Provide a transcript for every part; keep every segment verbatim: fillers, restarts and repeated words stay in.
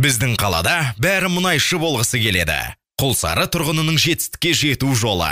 Біздің қалада бәрі мұнайшы болғысы келеді. Құлсары тұрғынының жетістікке жету жолы.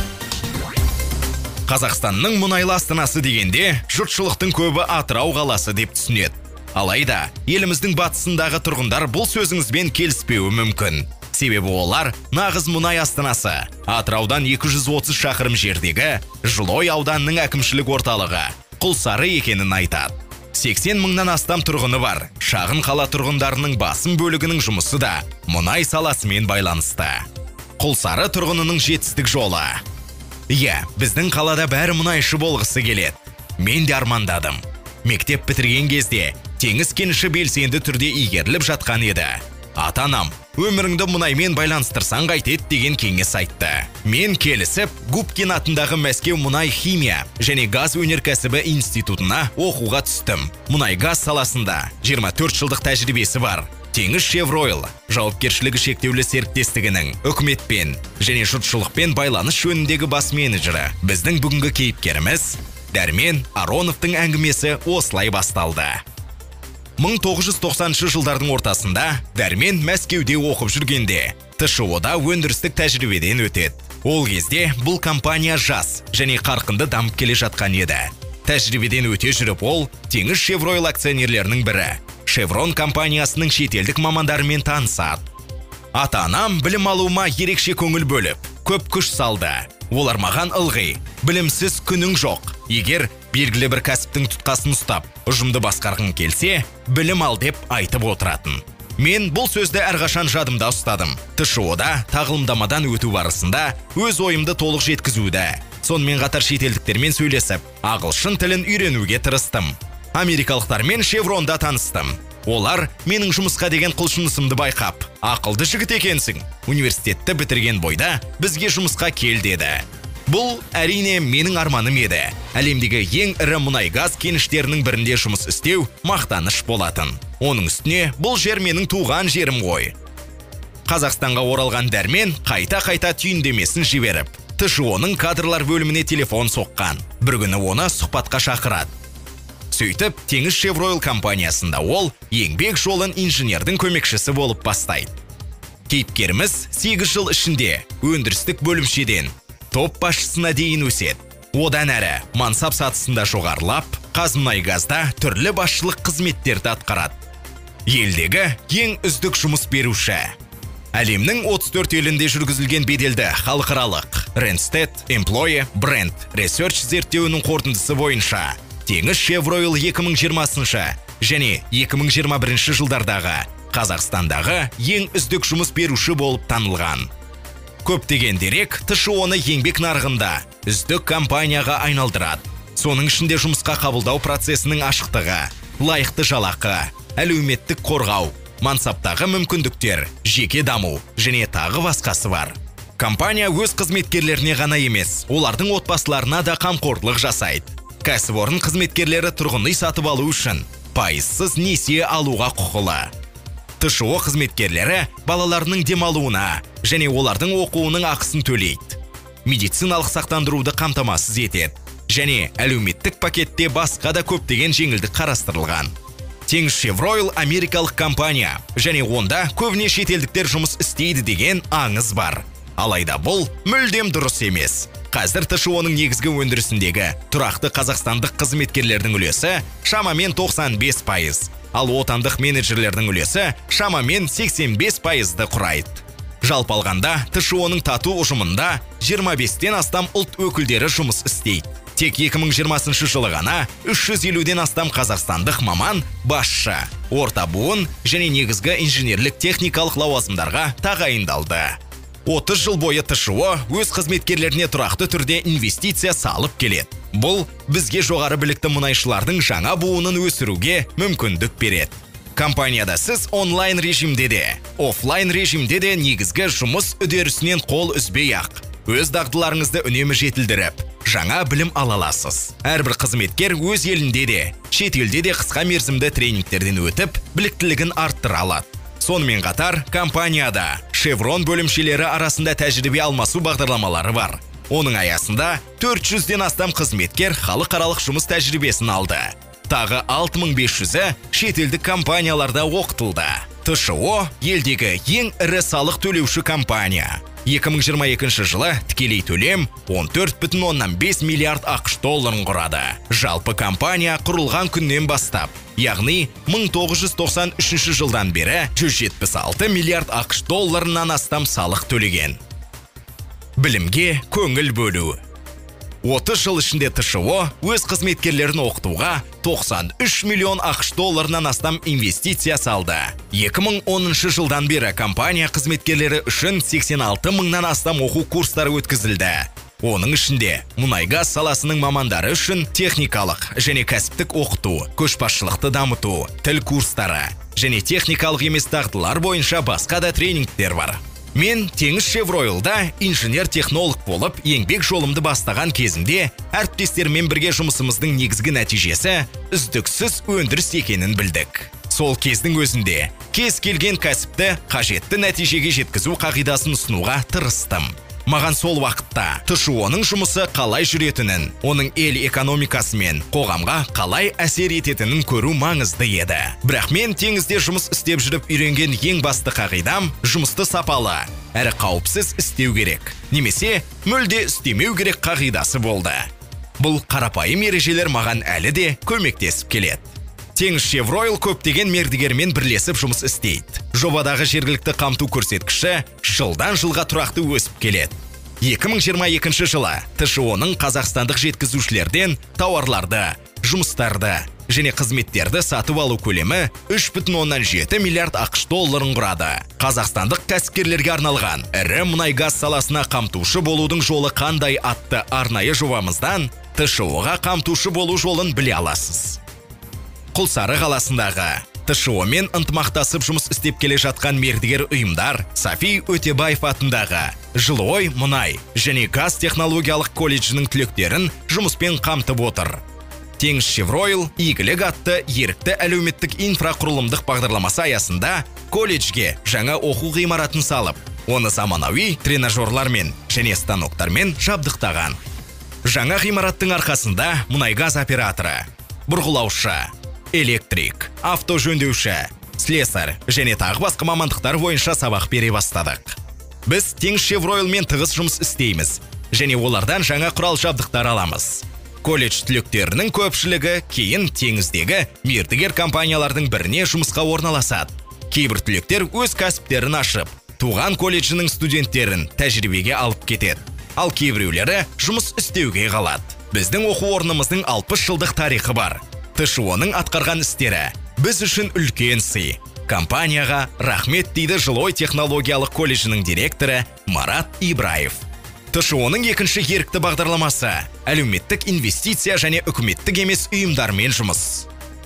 Қазақстанның мұнайлы астанасы дегенде, жұртшылықтың көбі Атырау қаласы деп түсінеді. Алайда, еліміздің батысындағы тұрғындар бұл сөзіңізбен келіспеуі мүмкін. Себебі олар нағыз мұнай астанасы. Атыраудан екі жүз отыз шақырым жердегі Жылой ауданының әкімшілік орталығы Құлсары екенін айтады. сексен мыңнан астам тұрғыны бар. Шағын қала тұрғындарының басым бөлігінің жұмысы да мұнай саласымен байланысты. Құлсары тұрғынының жетістік жолы. Иә, біздің қалада бәрі мұнайшы болғысы келеді. Мен де армандадым. Мектеп бітірген кезде теңіз кеніші белсенді түрде игеріліп жатқан еді. Ата-анам, өміріңді мұнаймен байланыстырсаң қайтеді деген кеңес айтты. Мен келісіп, Губкин атындағы Мәскеу мұнай химия және газ өнеркәсібі институтына оқуға түстім. Мұнай газ саласында жиырма төрт жылдық тәжірибесі бар. Теңізшевройл жауапкершілігі шектеулі серіктестігінің үкіметпен және жұртшылықпен байланыс жөніндегі бас менеджері. Біздің бүгінгі кейіпкеріміз Дәрмен Ароновтың әңгімесі осылай басталды. мың тоғыз жүз тоқсаныншы жылдардың ортасында Дәрмен Мәскеуде оқып жүргенде Т Ш О-да өндірістік тәжірибеден өтеді. Ол кезде бұл компания жас және қарқынды дамып келе жатқан еді. Тәжірибеден өте жүріп ол Теңізшевройл акционерлерінің бірі Шеврон компаниясының шетелдік мамандарымен танысады. Ата-анам білім алуыма ерекше көңіл бөліп, көп күш салды. Олар маған ылғи, білімсіз күнің жоқ. Егер белгілі бір кәсіптің тұтқасын ұстап, ұжымды басқарғың келсе, білім ал деп айтып отыратын. Мен бұл сөзді әрқашан жадымда ұстадым. Т Ш О-да тағылымдамадан өту барысында өз ойымды толық жеткізуді. Сонымен қатар шетелдіктермен сөйлесіп, ағылшын тілін үйренуге тырыстым. Америкалықтармен Шевронда таныстым. Олар менің жұмысқа деген құлшынысымды байқап, ақылды жігіт екенсің. Университетті бітірген бойда бізге жұмысқа кел деді. Бұл әрине менің арманым еді. Әлемдегі ең ірі мұнай газ кеніштерінің бірінде жұмыс істеу мақтаныш болатын. Оның үстіне бұл жер менің туған жерім ғой. Қазақстанға оралған Дәрмен қайта-қайта түйіндемесін жіберіп, Т Ш О-ның кадрлар бөліміне телефон соққан. Бір күні оны сұхбатқа шақырады. Сөйтіп, Теңізшевройл компаниясында ол еңбек жолын инженердің көмекшісі болып бастайды. Кейіпкеріміз сегіз жыл ішінде өндірістік бөлімшеден топ басшысына дейін өседі. Одан әрі мансап сатысында жоғарылап, Қазмұнайгазда түрлі басшылық қызметтерді атқарады. Елдегі ең үздік жұмыс беруші. Әлемнің отыз төрт елінде жүргізілген беделді халықаралық Randstad Employee Brand Research зерттеуінің қорытындысы бойынша Теңізшевройл екі мың жиырмасыншы және екі мың жиырма бірінші жылдардағы Қазақстандағы ең үздік жұмыс беруші болып танылған. Көптеген дерек Т Ш О-ны еңбек нарығында үздік компанияға айналдырады. Соның ішінде жұмысқа қабылдау процесінің ашықтығы, лайықты жалақы, әлеуметтік қорғау, мансаптағы мүмкіндіктер, жеке даму және тағы басқасы бар. Компания өз қызметкерлеріне ғана емес, олардың отбасыларына да қамқорлық жасайды. Кәсіпорын қызметкерлері тұрғын үй сатып алу үшін пайызсыз несие алуға құқылы. Т Ш О қызметкерлері балаларының демалуына және олардың оқуының ақысын төлейді. Медициналық сақтандыруды қамтамасыз етеді. Және әлеуметтік пакетте басқа да көптеген жеңілдік қарастырылған. Теңізшевройл америкалық компания және онда көбіне шетелдіктер жұмыс істейді деген аңыз бар. Алайда бұл мүлдем дұрыс емес. Қазір Т Ш О-ның негізгі өндірісіндегі тұрақты қазақстандық қызметкерлердің үлесі шамамен тоқсан бес пайыз, ал отандық менеджерлердің үлесі шамамен сексен бес пайызды құрайды. Жалпы алғанда Т Ш О-ның тату ұжымында жиырма бестен астам ұлт өкілдері жұмыс істейді. Тек екі мың жиырмасыншы жылы ғана үш жүз елуден астам қазақстандық маман басшы, орта буын және негізгі инженерлік техникалық лауазымдарға тағайындалды. отыз жыл бойы Т Ш О өз қызметкерлеріне тұрақты түрде инвестиция салып келеді. Бұл бізге жоғары білікті мұнайшылардың жаңа буынын өсіруге мүмкіндік береді. Компанияда сіз онлайн режимде де, офлайн режимде де негізгі жұмыс үдерісінен қол үзбей-ақ өз дағдыларыңызды үнемі жетілдіріп, жаңа білім ала аласыз. Әрбір қызметкер өз елінде де, шетелде де қысқа мерзімді тренингтерден өтіп, біліктілігін арттыра алады. Сонымен қатар, компанияда Шеврон бөлімшелері арасында тәжірибе алмасу бағдарламалары бар. Оның аясында төрт жүзден астам қызметкер халықаралық жұмыс тәжірибесін алды. Тағы алты мың бес жүзі шетелдік компанияларда оқытылды. тэ шэ о елдегі ең ірі салық төлеуші компания. екі мың жиырма екінші жылы тікелей төлем он төрт бүтін оннан бес миллиард ақш долларын құрады. Жалпы компания құрылған күннен бастап, яғни мың тоғыз жүз тоқсан үшінші жылдан бері жүз жетпіс алты миллиард ақш долларынан астам салық төлеген. Білімге көңіл бөлу. отыз жыл ішінде тэ шэ о өз қызметкерлерін оқытуға тоқсан үш миллион ақш долларынан астам инвестиция салды. екі мың оныншы жылдан бері компания қызметкерлері үшін сексен алты мыңнан астам оқу курстары өткізілді. Оның ішінде мұнай-газ саласының мамандары үшін техникалық және кәсіптік оқыту, көшбасшылықты дамыту, тіл курстары және техникалық емес дағдылар бойынша басқа да тренингтер бар. Мен Теңізшевройлда инженер-технолог болып, еңбек жолымды бастаған кезімде әріптестермен бірге жұмысымыздың негізгі нәтижесі үздіксіз өндіріс екенін білдік. Сол кездің өзінде кез келген кәсіпті қажетті нәтижеге жеткізу қағидасын ұсынуға тырыстым. Маған сол уақытта тэ шэ оның жұмысы қалай жүретінін, оның ел экономикасы мен қоғамға қалай әсер ететінін көру маңызды еді. Бірақ мен теңізде жұмыс істеп жүріп үйренген ең басты қағидам жұмысты сапалы, әрі қауіпсіз істеу керек, немесе мүлде істемеу керек қағидасы болды. Бұл қарапайым ережелер маған әлі де көмектесіп келеді. Теңізшевройл көптеген мердігермен бірлесіп жұмыс істейді. Жобадағы жергілікті қамту көрсеткіші жылдан жылға тұрақты өсіп келеді. екі мың жиырма екінші жылы тэ шэ оның қазақстандық жеткізушілерден тауарларды, жұмыстарды және қызметтерді сатып алу көлемі үш бүтін оннан жеті миллиард ақш долларын құрады. Қазақстандық кәсіпкерлерге арналған ірі мұнай-газ саласына қамтушы болудың жолы қандай атты арнайы жобамыздан тэ шэ оға қамтушы болу жолын біле аласыз. Құлсары қаласындағы тэ шэ омен ынтымақтасып жұмыс істеп келе жатқан мердігер ұйымдар Сафи Өтебаев атындағы Жылой мұнай және газ технологиялық колледжінің түлектерін жұмыспен қамтып отыр. Теңізшевройл игілік атты ерікті әлеуметтік инфрақұрылымдық бағдарламасы аясында колледжге жаңа оқу ғимаратын салып, оны заманауи тренажерлармен және станоктармен жабдықтаған. Жаңа ғимараттың арқасында мұнай-газ операторы, бұрғылаушы, электрик, авто жөндеуші, слесарь және тағы басқа мамандықтар бойынша сабақ бере бастадық. Біз Теңізшевройлмен тығыз жұмыс істейміз және олардан жаңа құрал жабдықтар аламыз. Колледж түлектерінің көпшілігі кейін теңіздегі мердігер компаниялардың біріне жұмысқа орналасады. Кейбір түлектер өз кәсіптерін ашып, туған колледжінің студенттерін тәжірибеге алып кетеді. Ал кейбіреулері жұмыс істеуге қалады. Біздің оқу орнымыздың алпыс жылдық тарихы бар. тэ шэ оның атқарған істері біз үшін үлкен сый. Компанияға рахмет дейді Жылой технологиялық колледжінің директоры Марат Ибраев. тэ шэ оның екінші ерікті бағдарламасы әлеуметтік инвестиция және үкіметтік емес ұйымдармен жұмыс.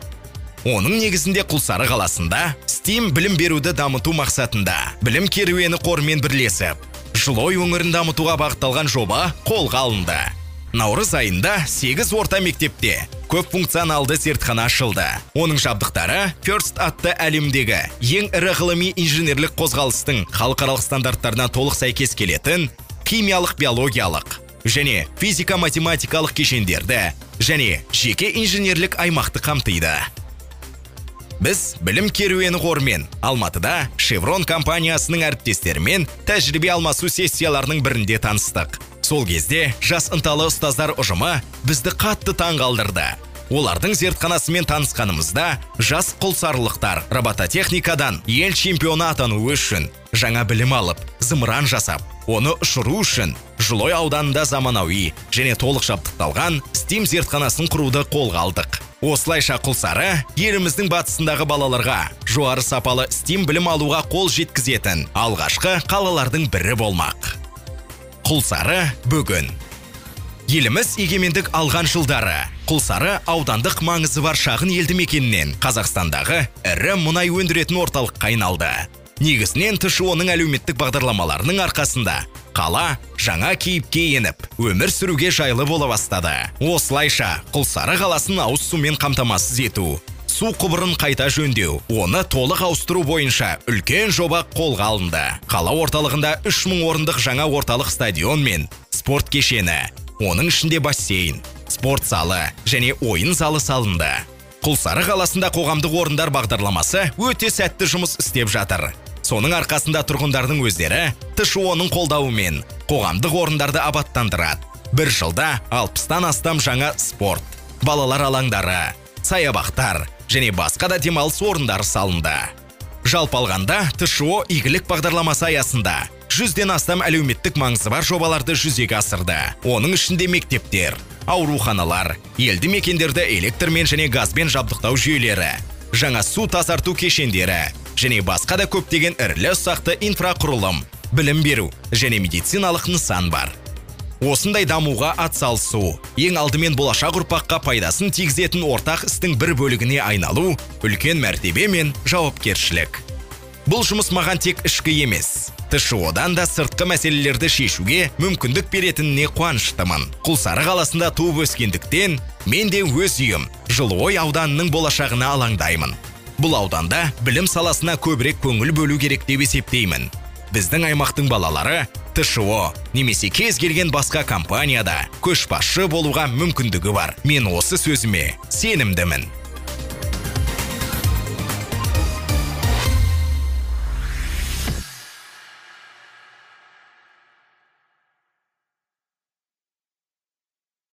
Оның негізінде Құлсары қаласында стим білім беруді дамыту мақсатында білім керуені қорымен бірлесіп, Жылой өңірін дамытуға бағытталған жоба қолға алынды. Наурыз айында сегіз орта мектепте көп функционалды зертхана ашылды. Оның жабдықтары First атты әлемдегі ең ірі ғылыми инженерлік қозғалыстың халықаралық стандарттарына толық сәйкес келетін химиялық, биологиялық және физика-математикалық кешендерді және жеке инженерлік аймақты қамтиды. Біз білім керуені қорымен Алматыда Шеврон компаниясының әріптестерімен тәжірибе алмасу сессияларының бірінде таныстық. Сол кезде жас ынталы ұстаздар ұжымы бізді қатты таңғалдырды. Олардың зертханасымен танысқанымызда жас құлсарлықтар робототехникадан ел чемпионы атану үшін жаңа білім алып, зымыран жасап, оны ұшыру үшін Жылой ауданында заманауи және толық жабдықталған стим зертханасын құруды қолға алдық. Осылайша Құлсары еліміздің батысындағы балаларға жоғары сапалы стим білім алуға қол жеткізетін алғашқы қалалардың бірі болмақ. Құлсары бүгін. Еліміз егемендік алған жылдары Құлсары аудандық маңызы бар шағын елді мекенінен Қазақстандағы ірі мұнай өндіретін орталыққа айналды. Негізінен тэ шэ оның әлеуметтік бағдарламаларының арқасында қала жаңа кейіпке еніп, өмір сүруге жайлы бола бастады. Осылайша Құлсары қаласын ауыз сумен қамтамасыз ету, су құбырын қайта жөндеу, оны толық ауыстыру бойынша үлкен жоба қолға алынды. Қала орталығында үш мың орындық жаңа орталық стадион мен спорт кешені, оның ішінде бассейн, спорт залы және ойын залы салынды. Құлсары қаласында қоғамдық орындар бағдарламасы өте сәтті жұмыс істеп жатыр. Соның арқасында тұрғындардың өздері тэ шэ о-ның қолдауымен қоғамдық орындарды абаттандырады. Бір жылда алпыстан астам жаңа спорт, балалар алаңдары, саябақтар және басқа да демалыс орындары салынды. Жалпы алғанда тэ шэ о игілік бағдарламасы аясында жүзден астам әлеуметтік маңызы бар жобаларды жүзеге асырды. Оның ішінде мектептер, ауруханалар, елді мекендерді электрмен және газбен жабдықтау жүйелері, жаңа су тазарту кешендері және басқа да көптеген ірілі ұсақты инфрақұрылым, білім беру және медициналық нысан бар. Осындай дамуға атсалысу, ең алдымен болашақ ұрпаққа пайдасын тигізетін ортақ істің бір бөлігіне айналу, үлкен мәртебе мен жауапкершілік. Бұл жұмыс маған тек ішкі емес, тэ шэ о-дан да сыртқы мәселелерді шешуге мүмкіндік беретініне қуаныштымын. Құлсары қаласында туып өскендіктен, мен де өз үйім Жылыой ауданының болашағына алаңдаймын. Бұл ауданда білім саласына көбірек көңіл бөлу керек деп есептеймін. Біздің аймақтың балалары тэ шэ о немесе кез келген басқа компанияда көшбасшы болуға мүмкіндігі бар. Мен осы сөзіме сенімдімін.